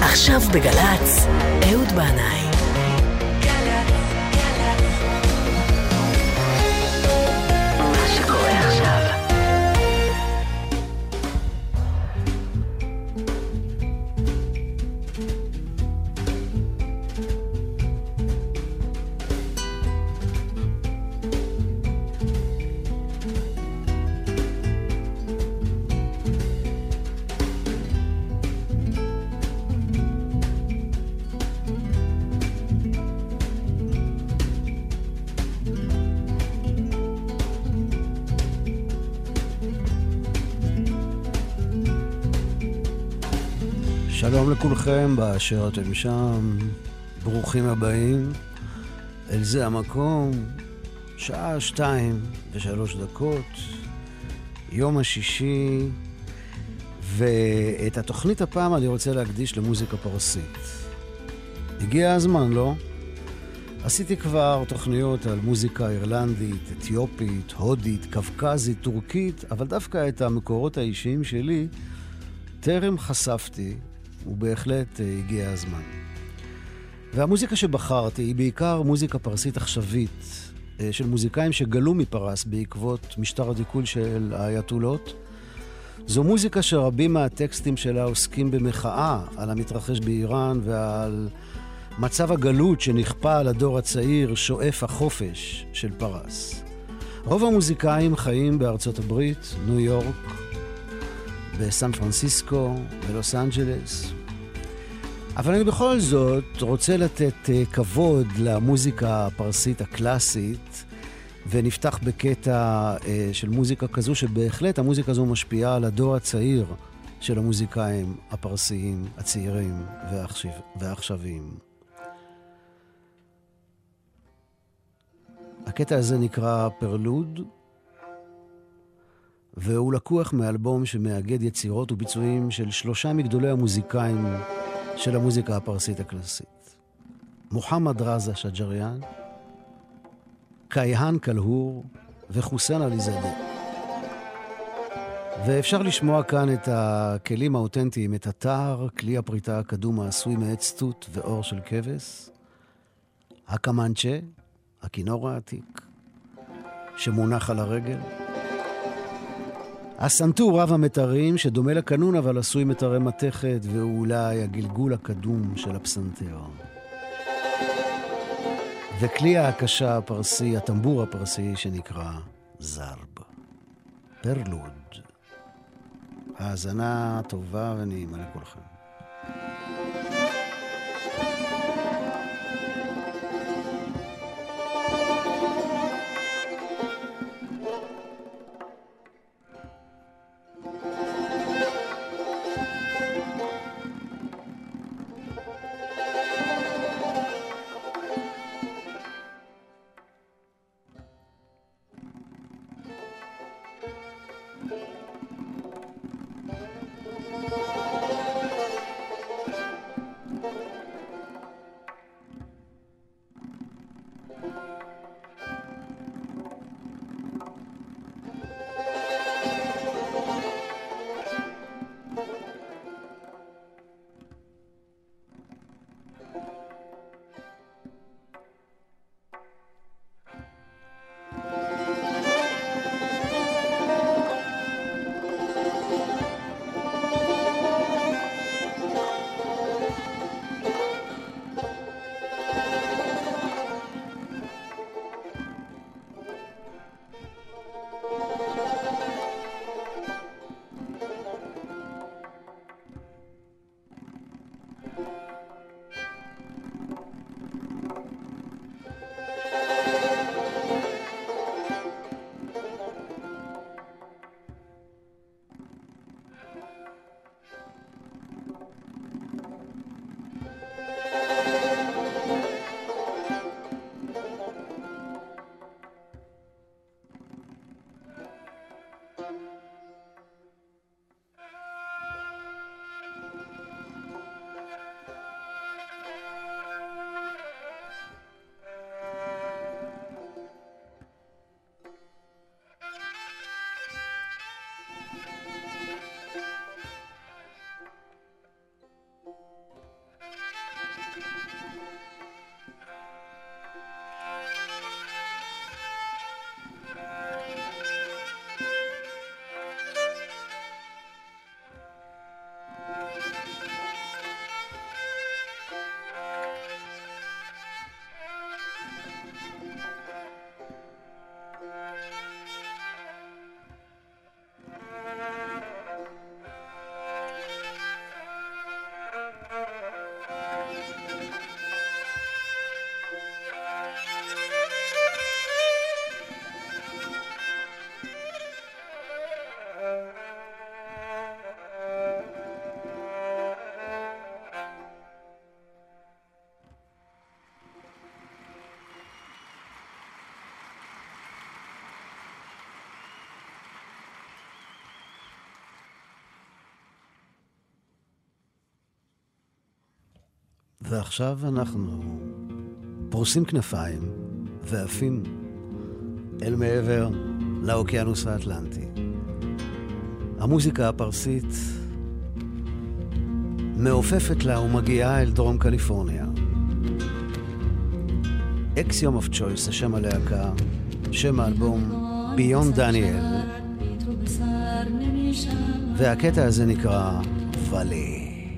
עכשיו בגלץ, אהוד בנאי. מה שקורה עכשיו. שלום לכולכם באשר אתם שם, ברוכים הבאים אל זה המקום, שעה 2:03, יום השישי, ואת התוכנית הפעם אני רוצה להקדיש למוזיקה פרסית. הגיע הזמן, לא? עשיתי כבר תוכניות על מוזיקה אירלנדית, אתיופית, הודית, קווקזית, טורקית, אבל דווקא את המקורות האישיים שלי טרם חשפתי, ובהחלט הגיע הזמן. והמוזיקה שבחרתי היא בעיקר מוזיקה פרסית עכשווית, של מוזיקאים שגלו מפרס בעקבות משטר הדיכוי של האייתולות. זו מוזיקה שרבים מהטקסטים שלה עוסקים במחאה על המתרחש באיראן ועל מצב הגלות שנכפה על הדור הצעיר שואף החופש של פרס. רוב המוזיקאים חיים בארצות הברית, ניו יורק, בסן פרנסיסקו, בלוס אנג'לס. אבל אני בכל זאת רוצה לתת כבוד למוזיקה הפרסית הקלאסית, ונפתח בקטע של מוזיקה כזו, שבהחלט המוזיקה הזו משפיעה על הדור הצעיר של המוזיקאים הפרסיים, הצעירים והעכשוויים. הקטע הזה נקרא פרלוד, והוא לקוח מאלבום שמאגד יצירות וביצועים של 3 מגדולי המוזיקאים של המוזיקה הפרסית הקלאסית. מוחמד רזה שג'ריאן, קייהן קלהור וחוסיין עליזאדה. ואפשר לשמוע כאן את הכלים האותנטיים, את הטער, כלי הפריטה הקדום העשוי מעץ תות ואור של כבש, הקמנצ'ה, הכינור העתיק, שמונח על הרגל, הסנטור רב המתרים שדומה לקנון אבל עשוי מתרי מתכת, ואולי הגלגול הקדום של הפסנתר. וכלי ההקשה הפרסי, הטמבור הפרסי שנקרא זרב. פרלוד. האזנה טובה ונעימה לכולכם. ועכשיו אנחנו פורסים כנפיים ועפים אל מעבר לאוקיינוס האטלנטי. המוזיקה הפרסית מעופפת לה ומגיעה אל דרום קליפורניה. אקסיום אוף צ'ויס, השם הלהקה, שם האלבום ביון דניאל, והקטע הזה נקרא ואלי.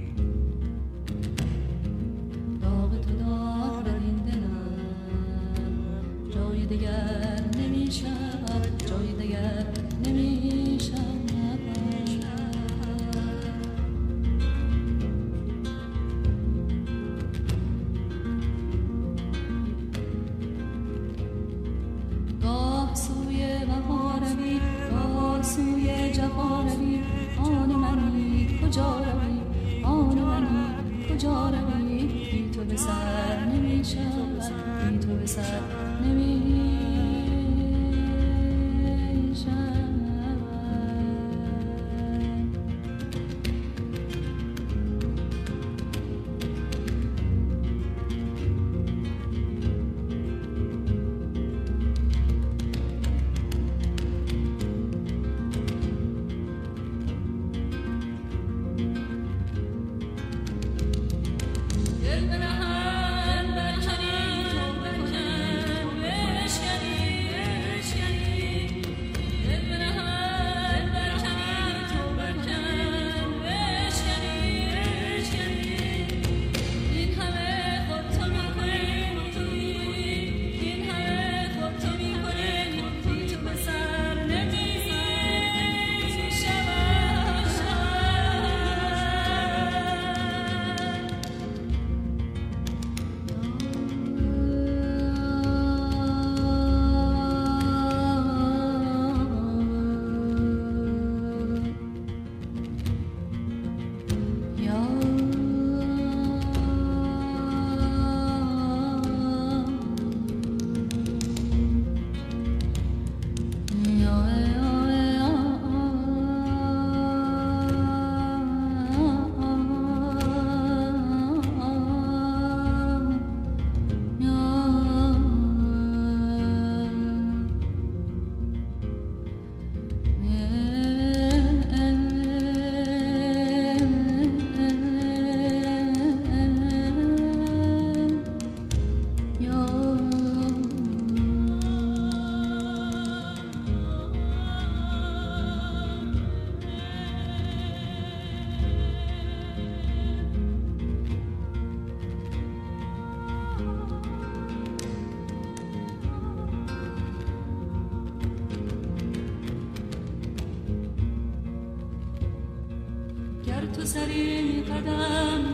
سری قدم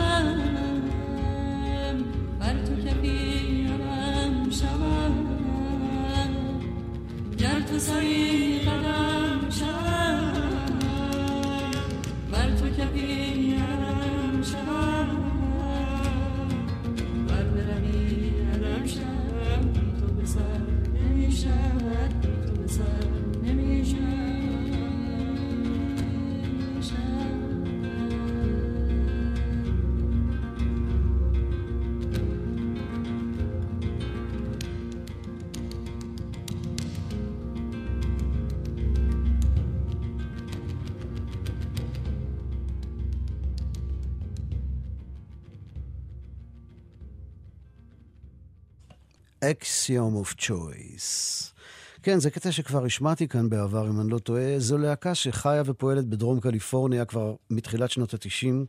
شوم بر تو کفی علم شوم گر تو سری قدم شوم بر تو کفی علم شوم بر بروی علم شوم تو بسر نمیشود تو بسر نمیشود Axiom of Choice. כן, זה קטע שכבר השמעתי כאן בעבר, אם אני לא טועה. זו להקה שחיה ופועלת בדרום קליפורניה כבר מתחילת שנות ה-90,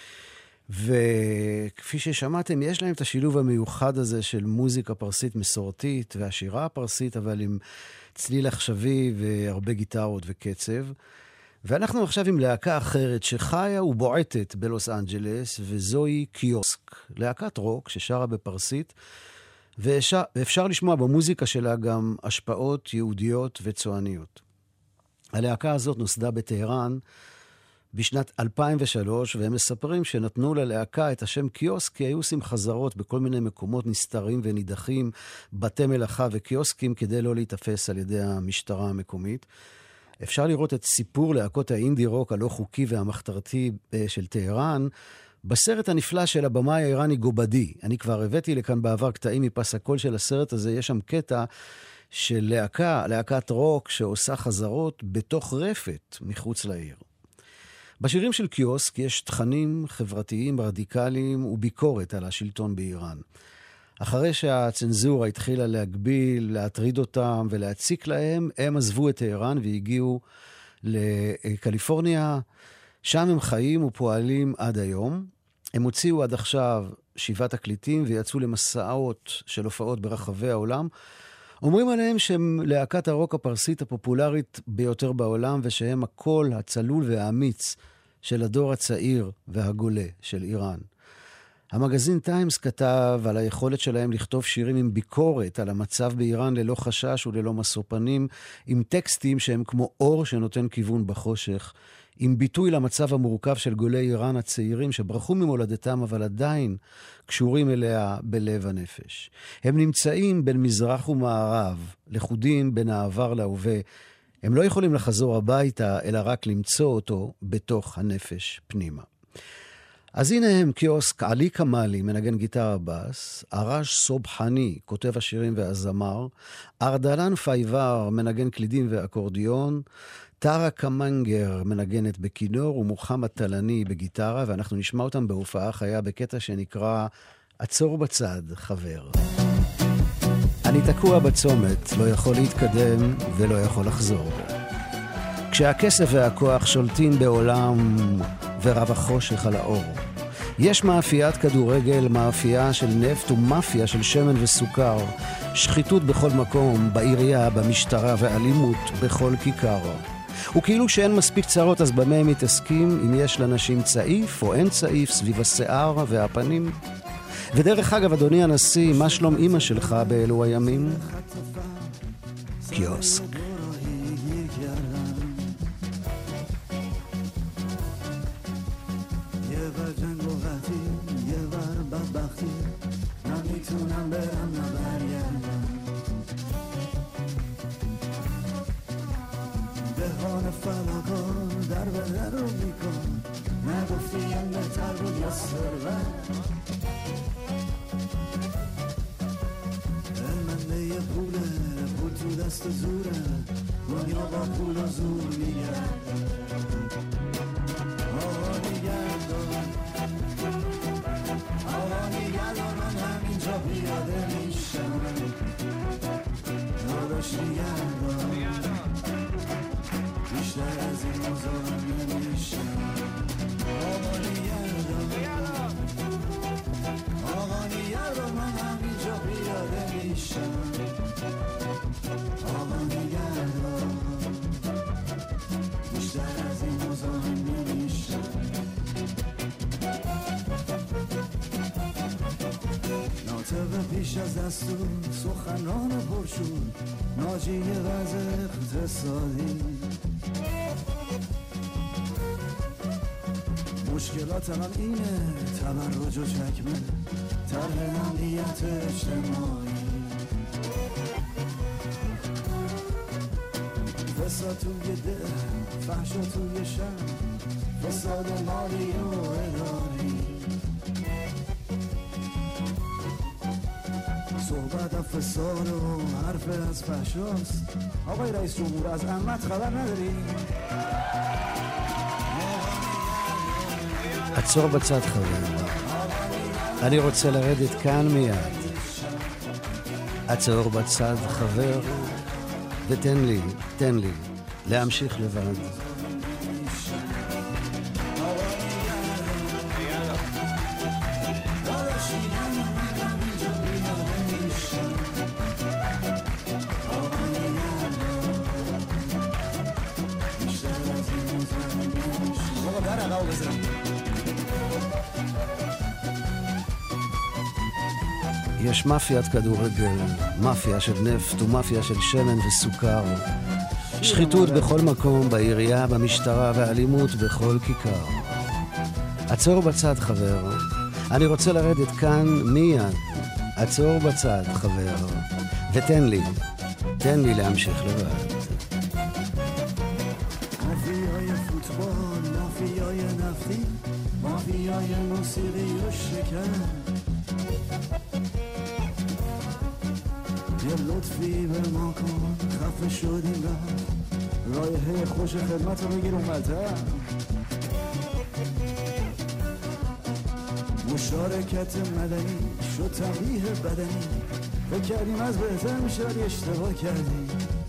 וכפי ששמעתם, יש להם את השילוב המיוחד הזה של מוזיקה פרסית מסורתית והשירה הפרסית, אבל עם צליל עכשווי והרבה גיטרות וקצב. ואנחנו עכשיו עם להקה אחרת שחיה ובועטת בלוס אנג'לס, וזוהי קיוסק, להקת רוק ששרה בפרסית, ואפשר לשמוע במוזיקה שלה גם השפעות יהודיות וצועניות. הלהקה הזאת נוסדה בטהרן בשנת 2003, והם מספרים שנתנו ללהקה את השם קיוסק, כי היו עושים חזרות בכל מיני מקומות נסתרים ונידחים, בתי מלאכה וקיוסקים, כדי לא להתאפס על ידי המשטרה המקומית. אפשר לראות את סיפור להקות האינדי רוק הלא חוקי והמחתרתי של טהרן, בסרט הנפלא של הבמאי האיראני גובדי, אני כבר הבאתי לכאן בעבר קטעים מפס הקול של הסרט הזה, יש שם קטע של להקת רוק שעושה חזרות בתוך רפת מחוץ לעיר. בשירים של קיוסק יש תכנים חברתיים רדיקליים וביקורת על השלטון באיראן. אחרי שהצנזורה התחילה להגביל, להטריד אותם ולהציק להם, הם עזבו את איראן והגיעו לקליפורניה. שם הם חיים ופועלים עד היום. הם הוציאו עד עכשיו 7 תקליטים ויצאו למסעות של הופעות ברחבי העולם. אומרים עליהם שהם להקת הרוק הפרסית הפופולרית ביותר בעולם, ושהם הקול הצלול והאמיץ של הדור הצעיר והגולה של איראן. המגזין טיימס כתב על היכולת שלהם לכתוב שירים עם ביקורת על המצב באיראן ללא חשש וללא משוא פנים, עם טקסטים שהם כמו אור שנותן כיוון בחושך, עם ביטוי למצב המורכב של גולי איראן הצעירים שברחו ממולדתם אבל עדיין קשורים אליה בלב הנפש. הם נמצאים בין מזרח ומערב, לכודים בין העבר להווה. הם לא יכולים לחזור הביתה אלא רק למצוא אותו בתוך הנפש פנימה. אז הנה הם קיוסק, עלי קמאלי, מנגן גיטרה בס, ארש סובחני, כותב השירים והזמר, ארדלן פייבר, מנגן קלידים ואקורדיון, טרה קמנגר, מנגנת בכינור, ומוחמד טלני בגיטרה, ואנחנו נשמע אותם בהופעה חיה בקטע שנקרא עצור בצד, חבר. אני תקוע בצומת, לא יכול להתקדם ולא יכול לחזור. כשהכסף והכוח שולטים בעולם ורב החושך על האור. יש מאפיית כדורגל, מאפייה של נפט ומאפיה של שמן וסוכר, שחיתות בכל מקום, בעירייה, במשטרה ואלימות בכל כיכר. וכאילו שאין מספיק צרות, אז במה הם מתעסקים? אם יש לאנשים צעיף או אין צעיף סביב השיער והפנים? ודרך אגב, אדוני הנשיא, מה שלום אמא שלך באלו הימים? קיוסק. دست زوره دنیا با پول و زور میگه آقا نگردان من همینجا پیاده میشم داداش نگردان بیشتر از این مزاحم نمیشم آقا نگردان من همینجا پیاده میشم پیش از دستور سخنران پرشور ناجی وضع اقتصادی مشکلات من اینه تبرج و چکمه طرح امنیت اجتماعی فساد توی ده فحشا توی شهر فساد مالی و اداری صحبت از فساد و حرف از فحشاست آقای رئیس جمهور از عمت خبر نداری؟ עצור בצד חבר, אני רוצה לרדת כאן מיד. עצור בצד חבר ותן לי להמשיך לבד. יש מאפיית כדורגל, מאפיה של נפט ומאפיה של שמן וסוכר. שחיתות בכל מקום, בעירייה, במשטרה ואלימות בכל כיכר. עצור בצד חבר, אני רוצה לרדת כאן מיד. עצור בצד חבר, ותן לי להמשיך לבד. مافیای فوتبال مافیای نفتی مافیای موسیقی و شکر یه لطفی به ما کن خفه شدیم رایحه خوش خدمت رو بگیر اومدتر مشارکت مدنی شد تنبیه بدنی فکر کردیم از بهتر میشه ولی اشتباه کردیم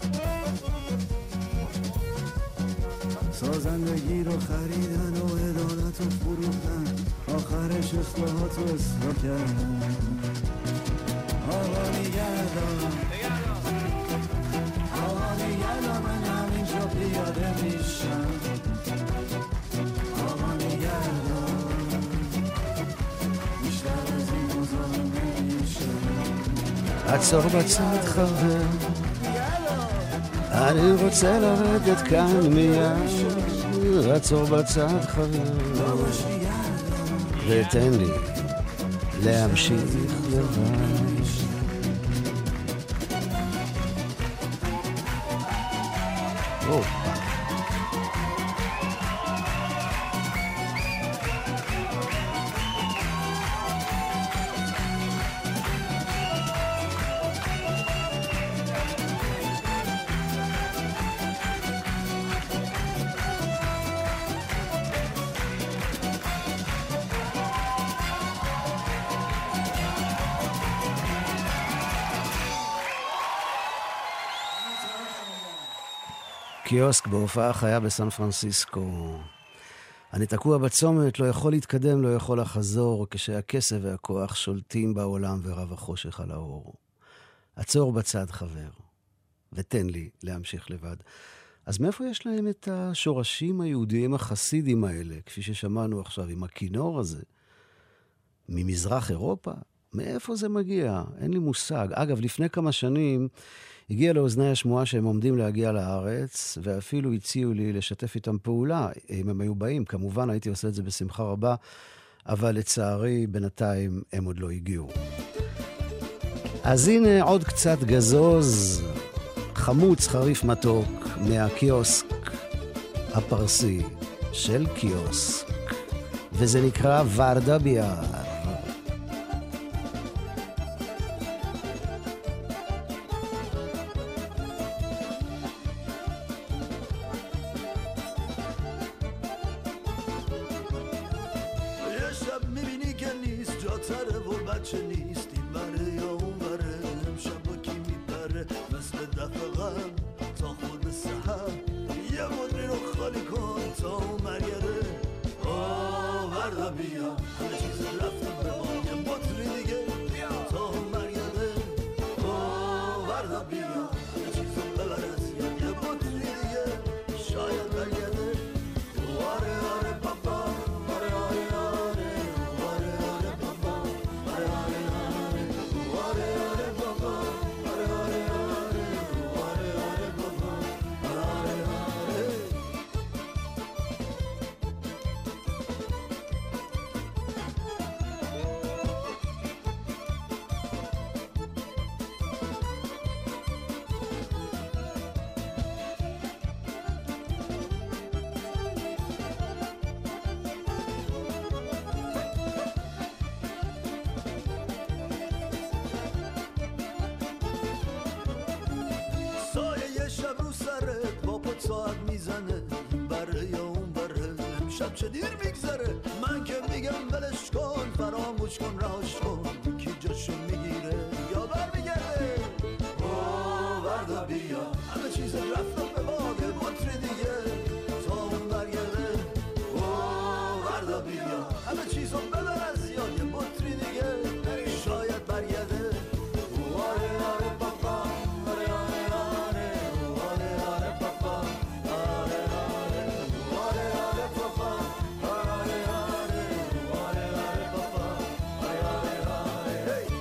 سازندگی رو خریدن و عدالت رو فروختن آخرش اصلاحات رو اصلاح کردن آقا نگردان من همینجا پیاده میشم آقا نگردان بیشتر از این مزاحم نمیشم עצור בצד חבר, אני רוצה לרדת כאן מיד, עצור בצד חבר, ותן לי להמשיך לבד. קיוסק בהופעה חיה בסן פרנסיסקו. אני תקוע בצומת, לא יכול להתקדם, לא יכול לחזור, כשהכסף והכוח שולטים בעולם ורב החושך על האור. עצור בצד חבר, ותן לי להמשיך לבד. אז מאיפה יש להם את השורשים היהודיים החסידים האלה, כפי ששמענו עכשיו עם הכינור הזה? ממזרח אירופה? מאיפה זה מגיע? אין לי מושג. אגב, לפני כמה שנים הגיע לאוזני השמועה שהם עומדים להגיע לארץ, ואפילו הציעו לי לשתף איתם פעולה, אם הם היו באים. כמובן, הייתי עושה את זה בשמחה רבה, אבל לצערי, בינתיים הם עוד לא הגיעו. אז הנה עוד קצת גזוז, חמוץ חריף מתוק, מהקיוסק הפרסי של קיוסק, וזה נקרא ורדה ביאר. چه دیر میگذره من که میگم بلش کن فراموش کن راش کن کی جاشو میگیره یا برمیگرده او وردا بیا همه چیز رفتم به باد مطری دیگه تا اون برگرده او وردا بیا همه چیزو ببر از یاد یه مطری دیگه شاید برگرده آره آره پاپا آره آره آره آره آره پاپا آره آره آره آره پاپا آره آره آره آره پاپا آره آره آره هی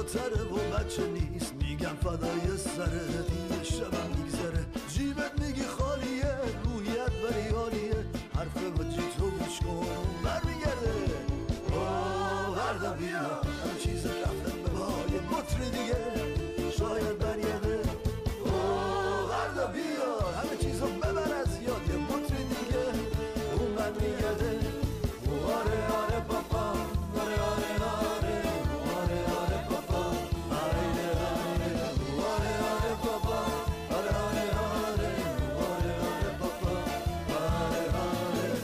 بالاتره و بچه نیست میگم فدای سره دیگه شبم میگذره جیبت میگی خالیه روحیت بری حالیه حرف وجی تو گوش کن برمیگرده وردا بیا همه چیز رفتن به پای مطری دیگه شاید برگرده وردا بیا همه چیزو ببر از یاد یه مطری دیگه اون برمیگرده آره آره پاپا آره آره آره آره آره پاپا آره آره آره آره پاپا آره آره آره آره آره پاپا آره آره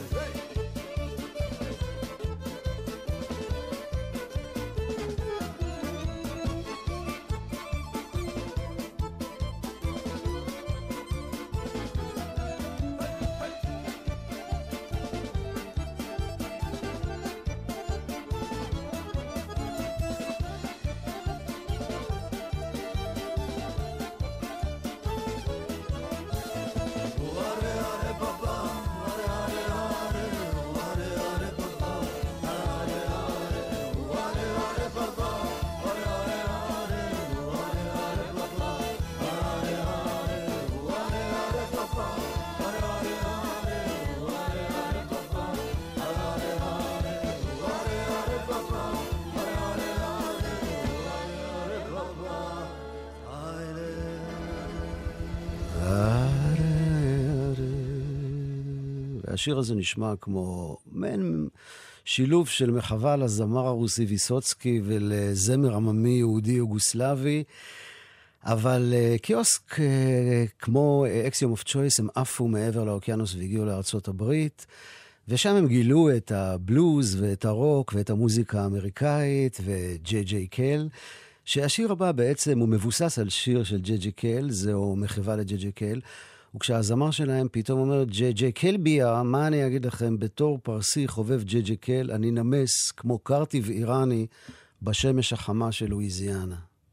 השיר הזה נשמע כמו מעין שילוב של מחווה לזמר הרוסי ויסוצקי ולזמר עממי יהודי יוגוסלבי, אבל קיוסק כמו אקסיום אוף צ'ויס הם עפו מעבר לאוקיינוס והגיעו לארצות הברית, ושם הם גילו את הבלוז ואת הרוק ואת המוזיקה האמריקאית וג'יי ג'יי קל, שהשיר הבא בעצם הוא מבוסס על שיר של ג'יי ג'יי קל, זהו מחווה לג'יי ג'יי קל, וכשהזמר שלהם פתאום אומר, ג'יי ג'יי קל ביה, מה אני אגיד לכם, בתור פרסי חובב ג'יי ג'יי קל, אני נמס כמו קרטיב איראני בשמש החמה של לואיזיאנה.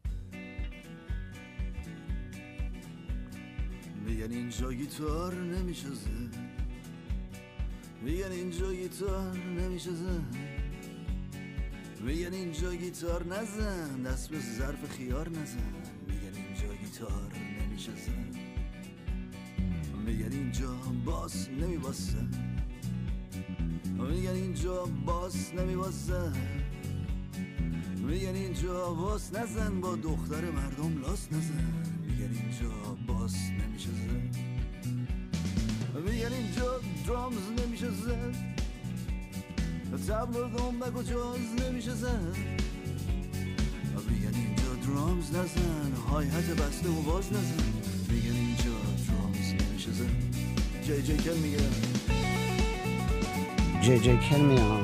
میگن اینجا گیتار نمیشه زد میگن اینجا گیتار نمیشه زد میگن اینجا گیتار نزن دست به ظرف خیار نزن میگن اینجا گیتار نمیشه زد میگن اینجا باس نمیباسه میگن اینجا باس نمیباسه میگن اینجا باس نزن با دختر مردم لاس نزن میگن اینجا باس نمیشه زد میگن اینجا درامز نمیشه زد تبل و دنبک و جاز نمیشه زد میگن اینجا درامز نزن های حت بسته و باز نزن میگن اینجا درامز نمیشه زد جی جی کل میگه جی جی کل میگه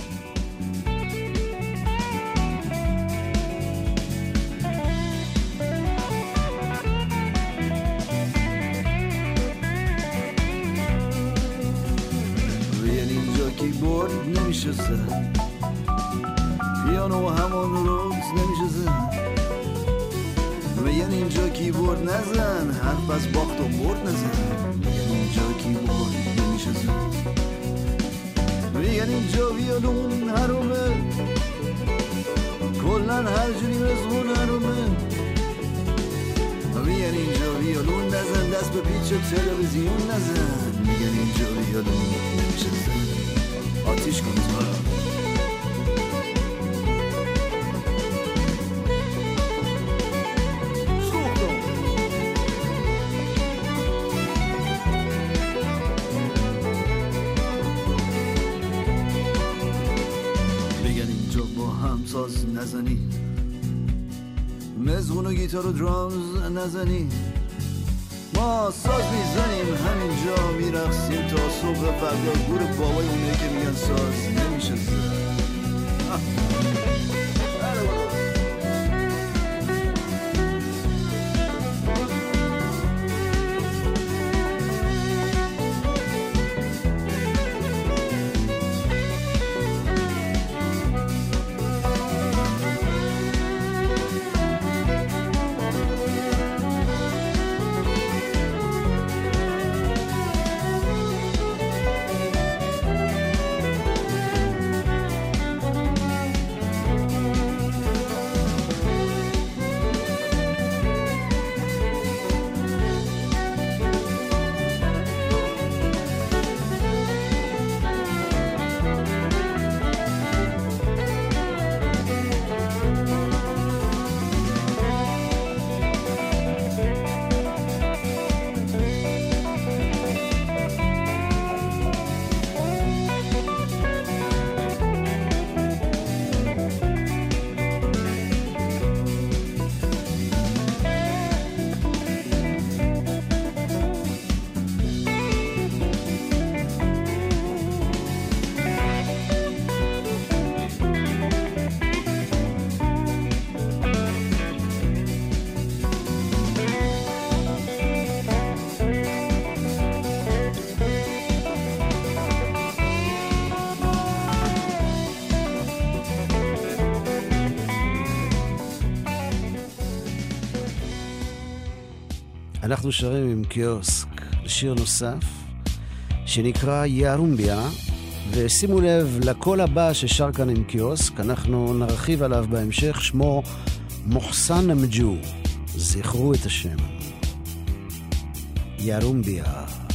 کیبورد نمیشه زد پیانو همون روز نمیشه زد میگن اینجا کیبورد نزن حرف از باخت و برد نزن میگن اینجا کیبورد نمیشه زد میگن اینجا ویولون حرومه کلن هر جوری مزمون حرومه میگن اینجا ویولون نزن دست به پیچ تلویزیون نزن میگن اینجا ویولون نمیشه زد آتیش کن تو بگن اینجا با هم ساز نزنی مزغون و گیتار و درامز نزنی ما ساز میزنیم همینجا میرقصیم تا صبح فردا گور بابای اونه که میگن ساز نمیشه زد אנחנו שרים עם קיוסק לשיר נוסף שנקרא יארומביה, ושימו לב לקול הבא ששר כאן עם קיוסק, אנחנו נרחיב עליו בהמשך, שמו מוחסן המג'ו, זכרו את השם. יארומביה.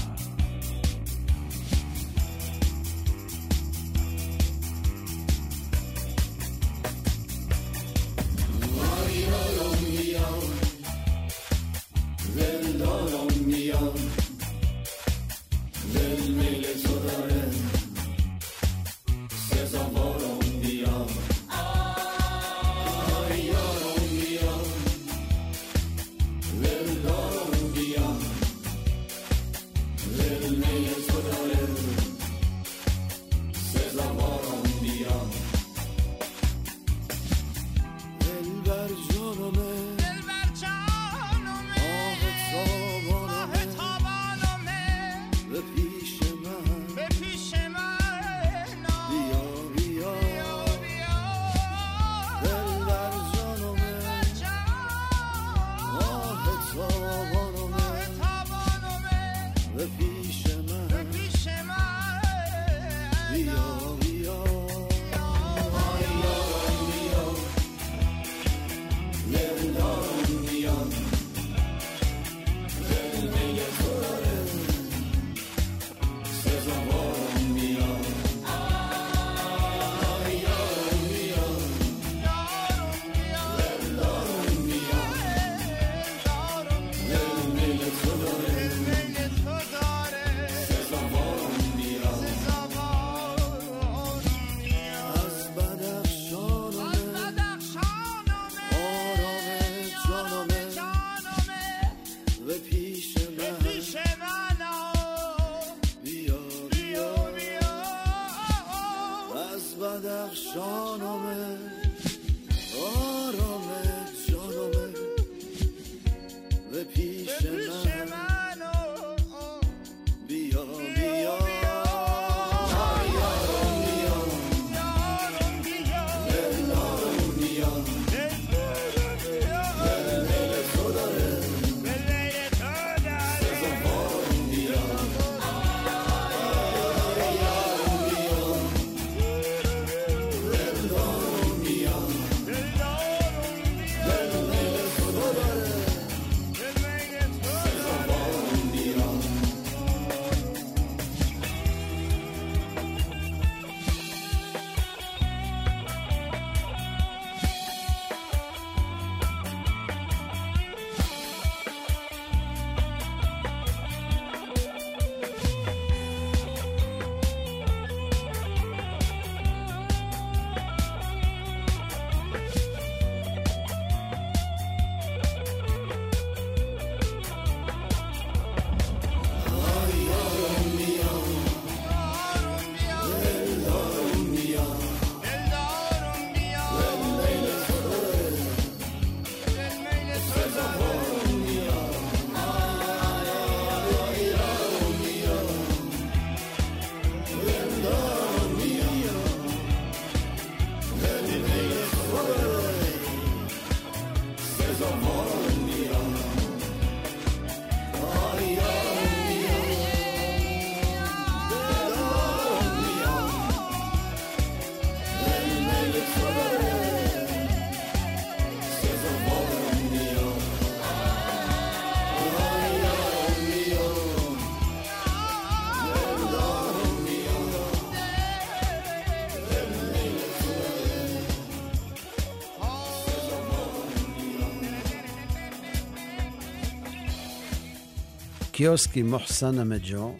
קיוסק עם מוחסן המג'ו,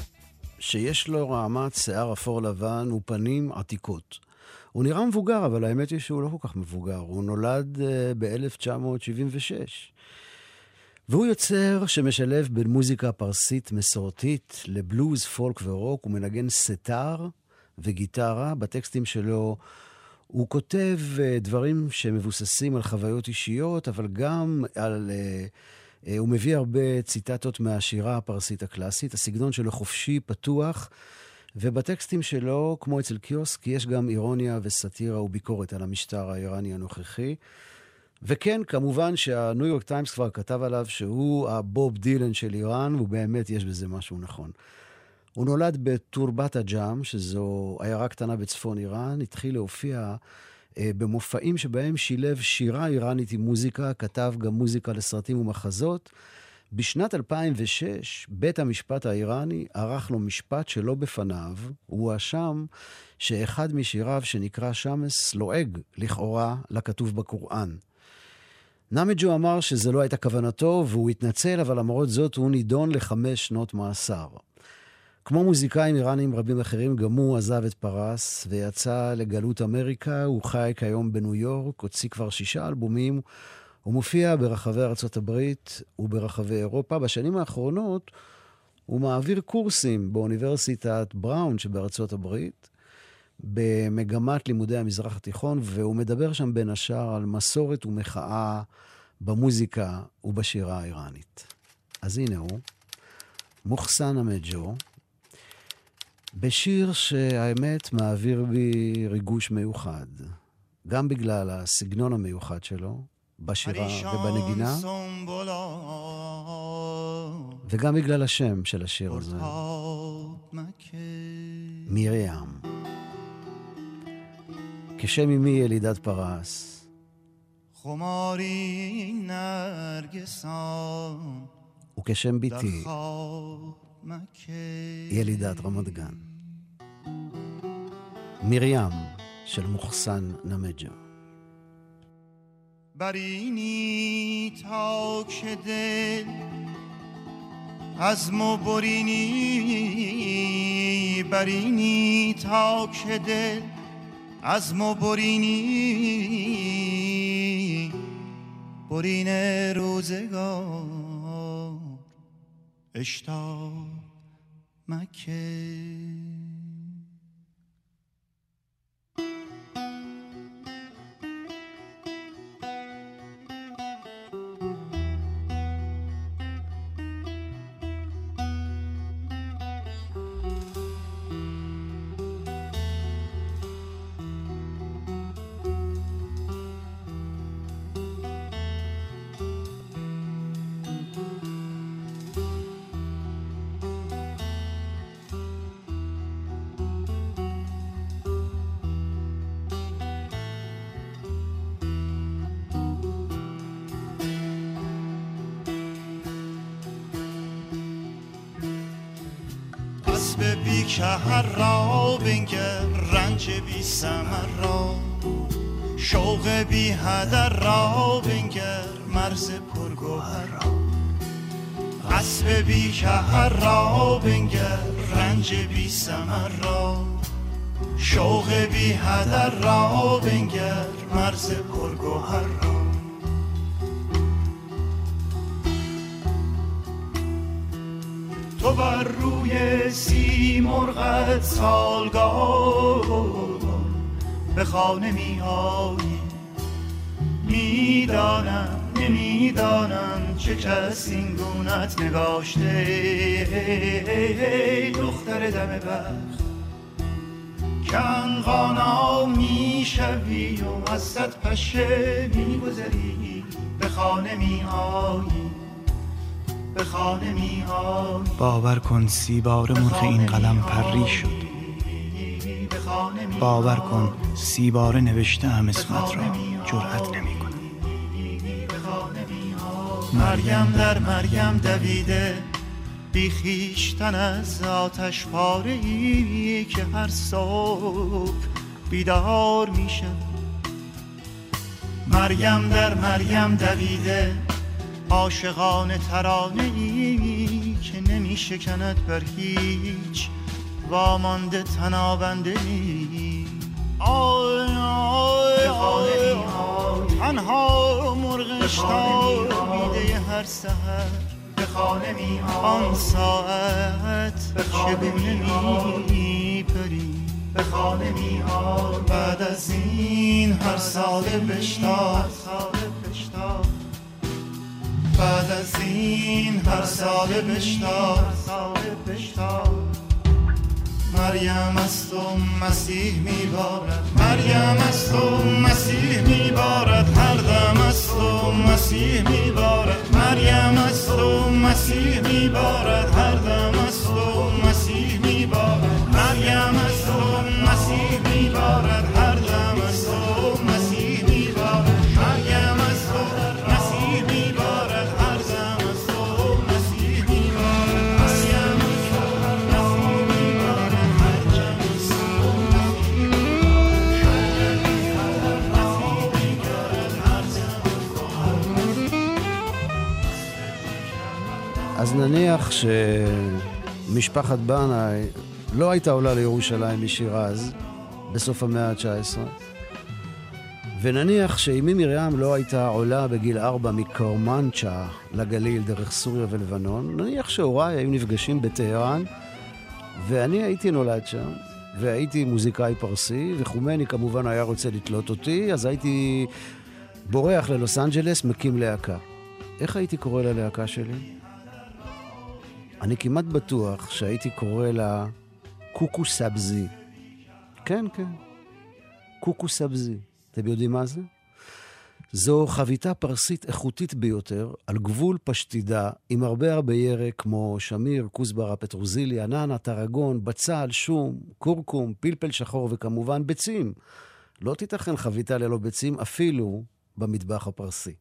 שיש לו רעמת שיער אפור לבן ופנים עתיקות. הוא נראה מבוגר, אבל האמת היא שהוא לא כל כך מבוגר. הוא נולד ב-1976. והוא יוצר שמשלב בין מוזיקה פרסית מסורתית לבלוז, פולק ורוק. הוא מנגן סטאר וגיטרה. בטקסטים שלו הוא כותב דברים שמבוססים על חוויות אישיות, אבל גם על... הוא מביא הרבה ציטטות מהשירה הפרסית הקלאסית. הסגנון שלו חופשי, פתוח, ובטקסטים שלו, כמו אצל קיוסק, יש גם אירוניה וסטירה וביקורת על המשטר האיראני הנוכחי. וכן, כמובן שהניו יורק טיימס כבר כתב עליו שהוא הבוב דילן של איראן, ובאמת יש בזה משהו נכון. הוא נולד בטורבת הג'אם, שזו עיירה קטנה בצפון איראן, התחיל להופיע במופעים שבהם שילב שירה איראנית עם מוזיקה, כתב גם מוזיקה לסרטים ומחזות. בשנת 2006, בית המשפט האיראני ערך לו משפט שלא בפניו, הוא האשם שאחד משיריו שנקרא שמס לועג לכאורה לכתוב בקוראן. נמג'ו אמר שזה לא הייתה כוונתו והוא התנצל, אבל למרות זאת הוא נידון ל5 שנות מאסר. כמו מוזיקאים איראנים רבים אחרים, גם הוא עזב את פרס ויצא לגלות אמריקה. הוא חי כיום בניו יורק, הוציא כבר 6 אלבומים, הוא מופיע ברחבי ארצות הברית וברחבי אירופה. בשנים האחרונות הוא מעביר קורסים באוניברסיטת בראון שבארצות הברית, במגמת לימודי המזרח התיכון, והוא מדבר שם בין השאר על מסורת ומחאה במוזיקה ובשירה האיראנית. אז הנה הוא, מוחסן נמג'ו, בשיר שהאמת מעביר בי ריגוש מיוחד, גם בגלל הסגנון המיוחד שלו, בשירה ובנגינה, וגם בגלל השם של השיר הזה, מרים. כשם אמי ילידת פרס, וכשם ביתי ילידת רמת גן. מרים של מוחסן נמג'ו. برینی تا که دل از ما برینی، برینی تا که دل از ما برینی، برین روزگار اشتاق مکه. بی که هر را بنگر رنج بی ثمر را، شوق بی هدر را بنگر مرز پرگوهر را. اسب بی که هر را بنگر رنج بی ثمر را، شوق بی هدر را بنگر مرز پرگوهر را. تو بر روی سیمرغت سالگاه به خانه می آیی، میدانم نمیدانم چه کس این گونت نگاشته. دختر دم بخت کنقانا می شوی و از صد پشه می گذری، به خانه می آیی، به خانه می آیی. باور کن 30 بار مرغ این قلم پری شد، باور کن 30 بار نوشته‌ام اسمت را، جرأت نمی کنم. مریم در مریم دویده، بی خویشتن از آتش پاره‌ای که هر صبح بیدار می شود. مریم در مریم دویده، عاشقانه ترانه‌ای که نمی شکند بر هیچ وامانده تنابنده‌ای. آی آی آی تنها مرغش میده هر سحر به خانه می آن ساعت چگونه می پری، به خانه می آی. بعد از این هر ساله بشتاب، بعد از این هر ساله بشتاب. مریم از تو مسیح میبارد، مریم از تو مسیح میبارد، هر دم از تو مسیح میبارد مریم است و مسیح میبارد هر دم است و مسیح میبارد مریم است و مسیح میبارد هر دم است و مسیح میبارد مریم است و مسیح میبارد هر دم است و مسیح میبارد مریم است و مسیح میبارد هر دم است و אז נניח שמשפחת בנאי לא הייתה עולה לירושלים משירז בסוף המאה ה-19, ונניח שאמי מרים לא הייתה עולה בגיל 4 מקרמנצ'ה לגליל דרך סוריה ולבנון, נניח שהוריי היו נפגשים בטהרן, ואני הייתי נולד שם, והייתי מוזיקאי פרסי, וחומני כמובן היה רוצה לתלות אותי, אז הייתי בורח ללוס אנג'לס, מקים להקה. איך הייתי קורא ללהקה שלי? אני כמעט בטוח שהייתי קורא לה קוקו סבזי. כן, כן. קוקו סבזי. אתם יודעים מה זה? זו חביתה פרסית איכותית ביותר, על גבול פשטידה, עם הרבה ירק כמו שמיר, כוסברה, פטרוזיליה, ננה, טרגון, בצל, שום, קורקום, פלפל שחור וכמובן ביצים. לא תיתכן חביתה ללא ביצים אפילו במטבח הפרסי.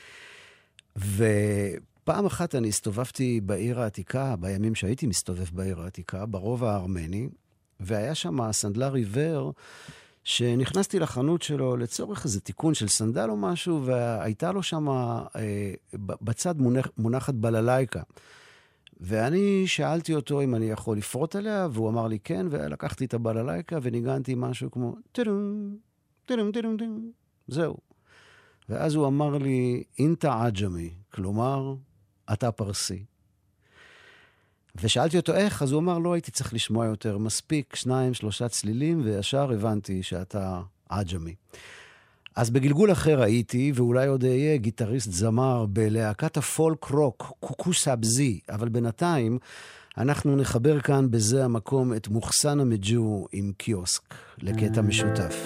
פעם אחת אני הסתובבתי בעיר העתיקה, בימים שהייתי מסתובב בעיר העתיקה, ברובע הארמני, והיה שם סנדלר עיוור, שנכנסתי לחנות שלו לצורך איזה תיקון של סנדל או משהו, והייתה לו שם בצד מונחת בללייקה. ואני שאלתי אותו אם אני יכול לפרוט עליה, והוא אמר לי כן, ולקחתי את הבללייקה וניגנתי משהו כמו טרום, טרום, טרום, טרום. זהו. ואז הוא אמר לי, אינטה עג'מי, כלומר, אתה פרסי. ושאלתי אותו איך, אז הוא אמר, לא הייתי צריך לשמוע יותר, מספיק 2-3 צלילים, וישר הבנתי שאתה עג'מי. אז בגלגול אחר הייתי, ואולי עוד אהיה גיטריסט זמר בלהקת הפולק רוק, קוקו סבזי, אבל בינתיים אנחנו נחבר כאן בזה המקום את מוחסן המג'ו עם קיוסק, לקטע משותף.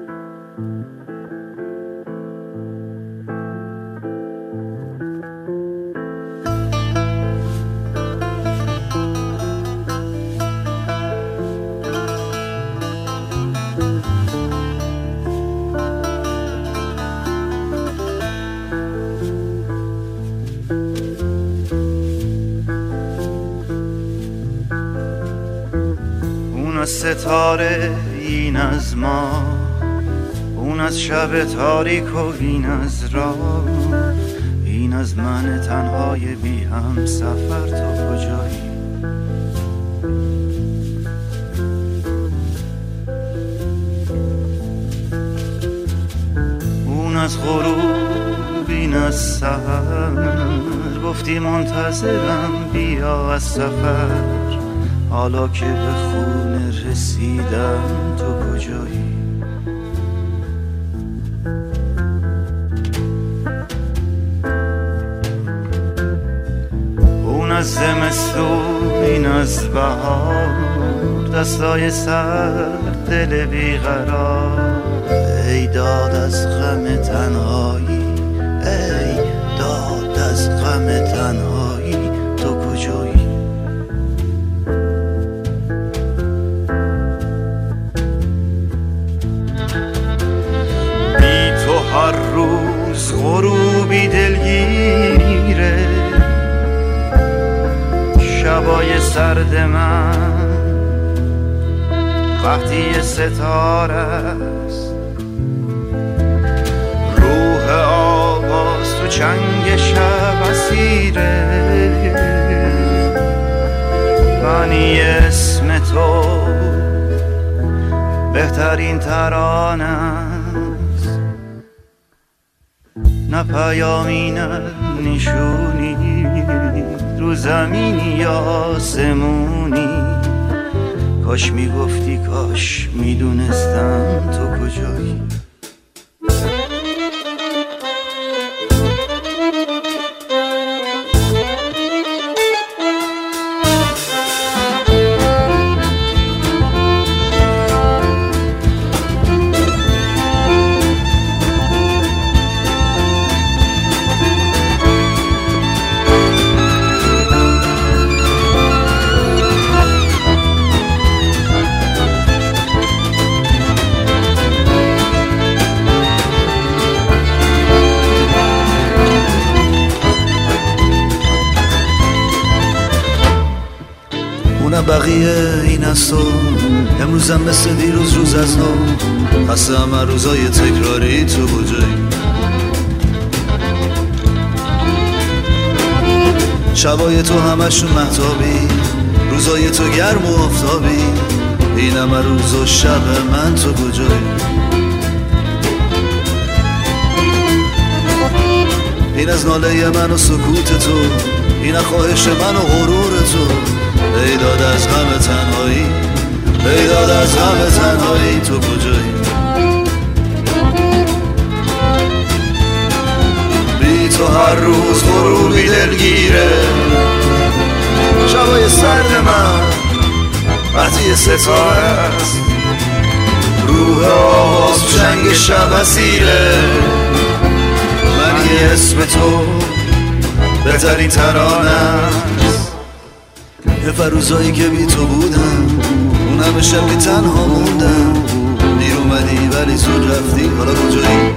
ستاره این از ما، اون از شب تاریک و این از راه، این از من تنهای بی هم سفر تا کجایی. اون از غروب این از سحر، گفتی منتظرم بیا از سفر، حالا که به خونه رسیدم تو کجایی؟ اون از زمستون این از بهار، دستای سرد دل بیقرار، ای داد از غم تنهایی، ای داد از غم تنهایی تو کجایی؟ هر روز غروبی دلگیره، شبای سرد من وقتی ستاره است، روح آواز تو چنگ شب اسیره، منی اسم تو بهترین ترانه، نه پیامی نه نشونی، رو زمینی یا آسمونی، کاش میگفتی کاش میدونستم تو کجایی. میدونم بقیه این است و امروزم مثل دیروز روز از نو خسته همه روزای تکراری تو بجایی شبای تو همشون مهتابی روزای تو گرم و آفتابی این همه روز و شب من تو کجایی این از ناله من و سکوت تو این خواهش من و غرور تو ای داد از غم تنهایی ای داد از غم تنهایی تو کجایی بی تو هر روز غروبی دلگیره شبای سرد من وقتی ستاره است روح آواز جنگ شب اسیره من یه اسم تو بهترین ترانه است یه فروزایی که بی تو بودم اون همه شبی تنها موندم دیر اومدی ولی زود رفتی حالا کجایی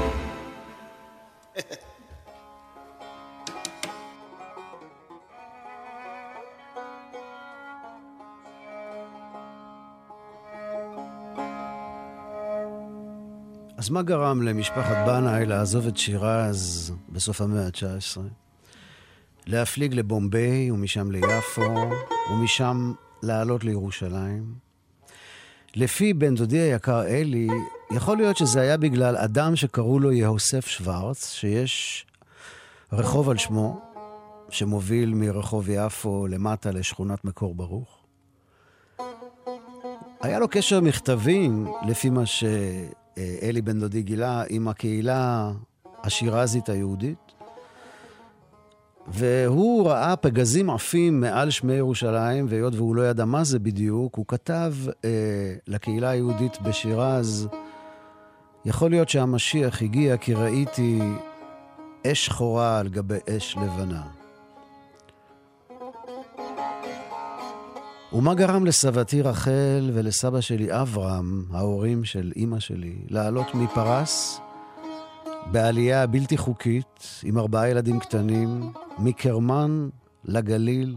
אז מה גרם למשפחת בנאי לעזוב את שירז בסוף המאה ה-19? להפליג לבומביי ומשם ליפו ומשם לעלות לירושלים? לפי בן דודי היקר אלי, יכול להיות שזה היה בגלל אדם שקראו לו יהוסף שוורץ, שיש רחוב על שמו, שמוביל מרחוב יפו למטה לשכונת מקור ברוך. היה לו קשר מכתבים, לפי מה שאלי בן דודי גילה, עם הקהילה השירזית היהודית, והוא ראה פגזים עפים מעל שמי ירושלים, והיות והוא לא ידע מה זה בדיוק, הוא כתב לקהילה היהודית בשירז, יכול להיות שהמשיח הגיע כי ראיתי אש שחורה על גבי אש לבנה. ומה גרם לסבתי רחל ולסבא שלי אברהם, ההורים של אמא שלי, לעלות מפרס בעלייה בלתי חוקית עם 4 ילדים קטנים, מקרמן לגליל,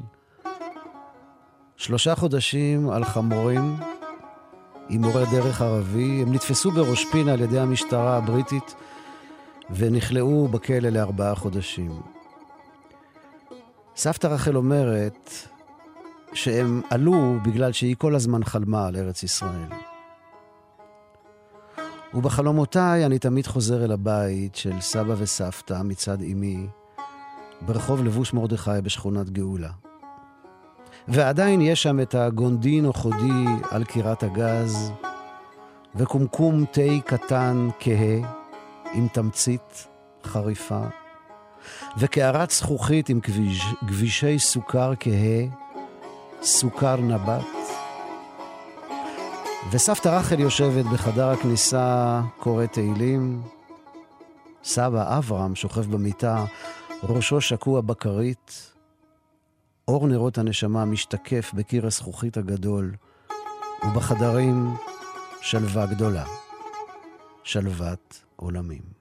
3 חודשים על חמורים עם מורה דרך ערבי. הם נתפסו בראש פינה על ידי המשטרה הבריטית ונכלאו בכלא ל4 חודשים. סבתא רחל אומרת שהם עלו בגלל שהיא כל הזמן חלמה על ארץ ישראל. ובחלומותיי אני תמיד חוזר אל הבית של סבא וסבתא מצד אמי, ברחוב לבוש מרדכי בשכונת גאולה. ועדיין יש שם את הגונדין או חודי על קירת הגז, וקומקום תה קטן כהה עם תמצית חריפה, וקערת זכוכית עם גבישי סוכר כהה, סוכר נבט. וסבתא רחל יושבת בחדר הכניסה, קוראת תהילים. סבא אברהם שוכב במיטה, ראשו שקוע בכרית. אור נרות הנשמה משתקף בקיר הזכוכית הגדול, ובחדרים שלווה גדולה, שלוות עולמים.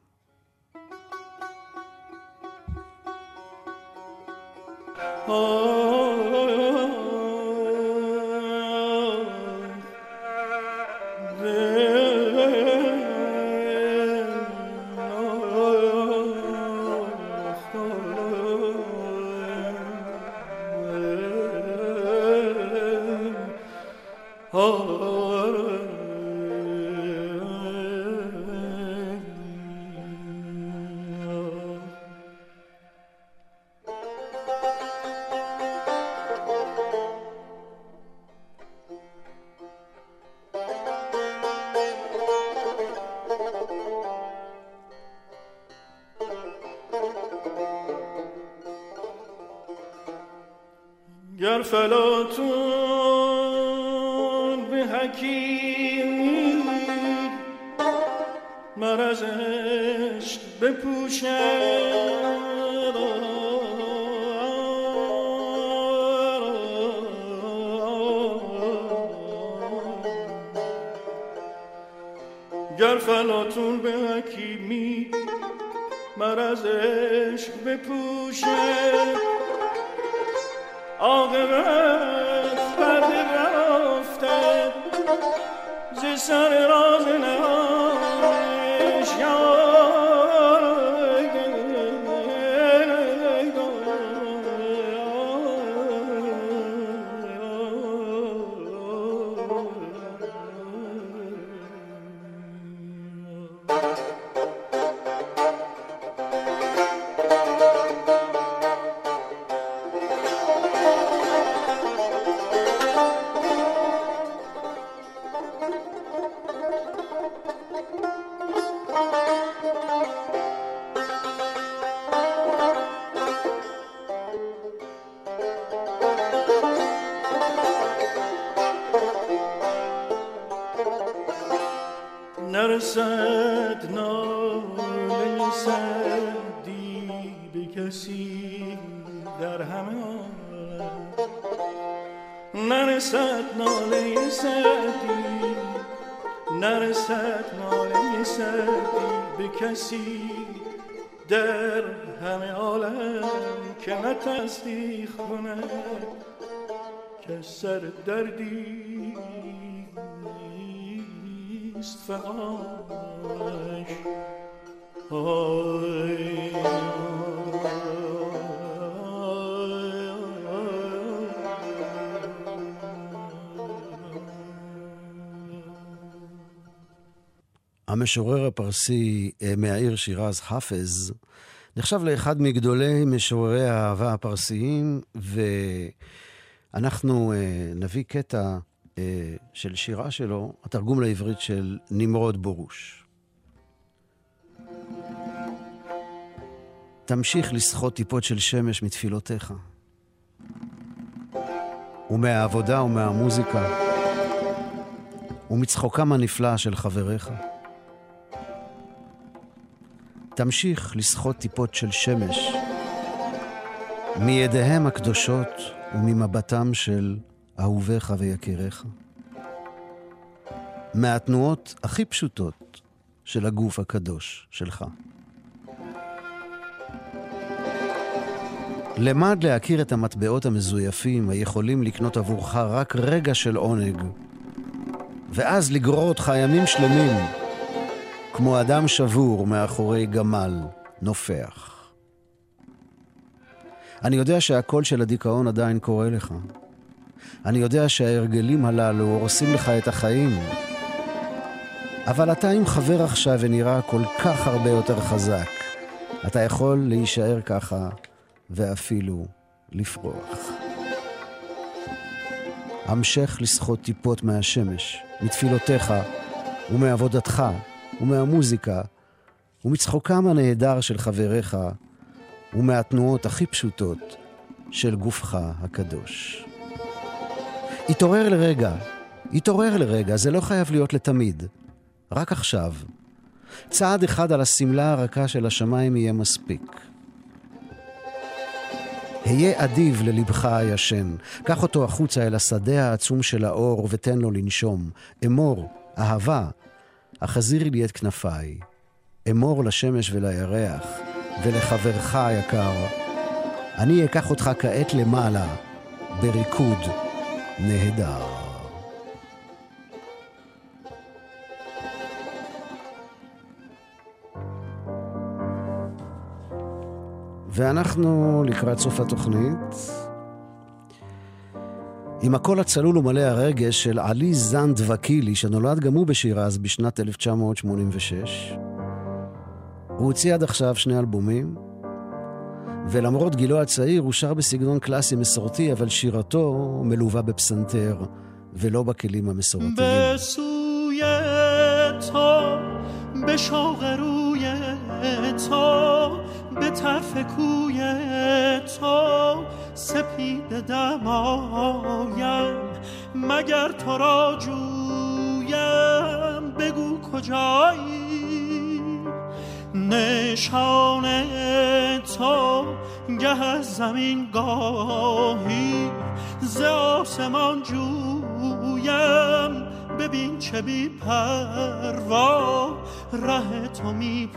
گر فلاطون به حکیمی مرض عشق بپوشد، گر فلاطون به حکیمی مرض عشق بپوشد، عاقبت پرده رفته ز سر راز نهانش نرسد ناله سعدی به کسی در همه عالم نرسد ناله سعدی نرسد ناله سعدی به کسی در همه عالم که نه تصدیق کند که سر دردی است فقاش המשורר הפרסי מהעיר שירז, חאפז, נחשב לאחד מגדולי משוררי האהבה הפרסיים, ואנחנו נביא קטע של שירה שלו, התרגום לעברית של נמרוד בורוש. תמשיך לשחות טיפות של שמש מתפילותיך, ומהעבודה ומהמוזיקה, ומצחוקם הנפלא של חבריך. תמשיך לשחות טיפות של שמש, מידיהם הקדושות וממבטם של אהוביך ויקיריך. מהתנועות הכי פשוטות של הגוף הקדוש שלך. למד להכיר את המטבעות המזויפים היכולים לקנות עבורך רק רגע של עונג, ואז לגרור אותך ימים שלמים כמו אדם שבור מאחורי גמל נופח. אני יודע שהקול של הדיכאון עדיין קורא לך. אני יודע שההרגלים הללו הורסים לך את החיים. אבל אתה עם חבר עכשיו ונראה כל כך הרבה יותר חזק. אתה יכול להישאר ככה ואפילו לפרוח. המשך לשחות טיפות מהשמש, מתפילותיך ומעבודתך ומהמוזיקה ומצחוקם הנהדר של חבריך ומהתנועות הכי פשוטות של גופך הקדוש. התעורר לרגע, זה לא חייב להיות לתמיד. רק עכשיו. צעד אחד על הסמלה הרכה של השמיים יהיה מספיק. היה אדיב ללבך הישן, קח אותו החוצה אל השדה העצום של האור ותן לו לנשום. אמור, אהבה, החזירי לי את כנפיי. אמור לשמש ולירח ולחברך היקר. אני אקח אותך כעת למעלה, בריקוד נהדר. ואנחנו לקראת סוף התוכנית עם הקול הצלול ומלא הרגש של עלי זנד וקילי, שנולד גם הוא בשירז בשנת 1986. הוא הוציא עד עכשיו 2 אלבומים, ולמרות גילו הצעיר הוא שר בסגנון קלאסי מסורתי, אבל שירתו מלווה בפסנתר ולא בכלים המסורתיים. בסוی تو به شوق روی تو به طرف کوی تو سپید دمایم مگر تو را جویم بگو کجایی نشان تو گه از زمین گاهی ز آسمان جویم ببین چه بی پروا ره تو می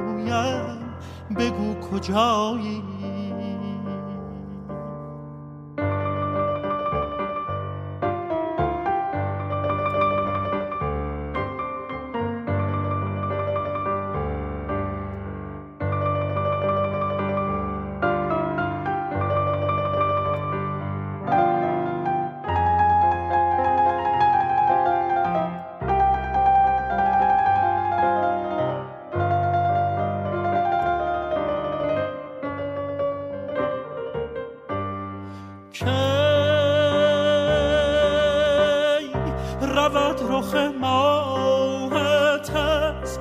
پویم بگو کجایی کی رود رخ ماهت از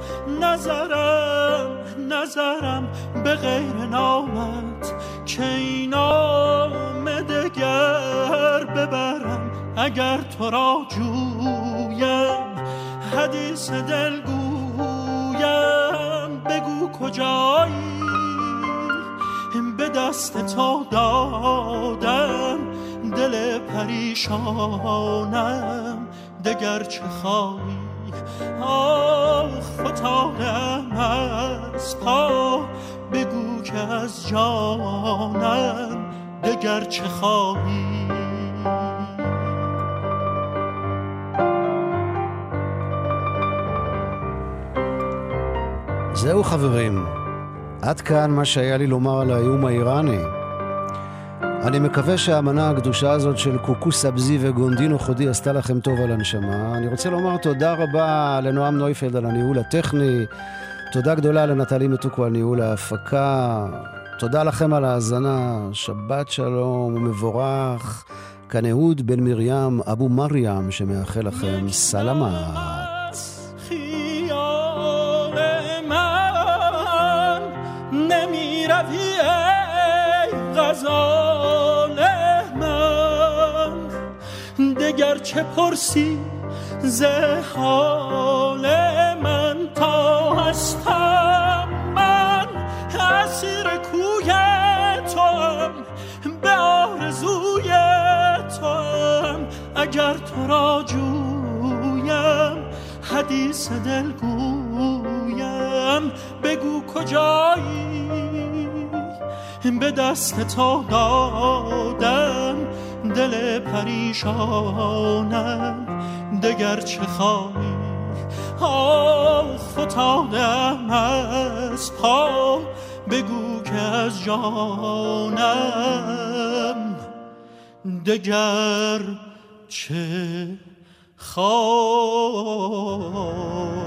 نظرم به غیر نامت که این نام دگر ببرم اگر تو را جویم حدیث دل گویم بگو کجایی به دست تو دادم دل پریشانم دگر چه خواهی فتادم از پا بگو که از جانم دگر چه خواهی זהו חברים, עד כאן מה שהיה לי לומר על האיום האיראני. אני מקווה שהאמנה הקדושה הזאת של קוקו סבזי וגונדינו חודי עשתה לכם טוב על הנשמה. אני רוצה לומר תודה רבה לנועם נויפלד על הניהול הטכני, תודה גדולה לנטלי מתוקו על ניהול ההפקה, תודה לכם על ההאזנה, שבת שלום ומבורך. כאן אהוד בן מרים אבו מרים שמאחל לכם סלמת. غزال من دگر چه پرسی ز حال من تا هستم من اسیر کوی توام به آرزوی توام اگر تو را جویم حدیث دل گویم بگو کجایی به دست تو دادم دل پریشانم دگر چه خواهی فتادم از پا بگو که از جانم دگر چه خواهی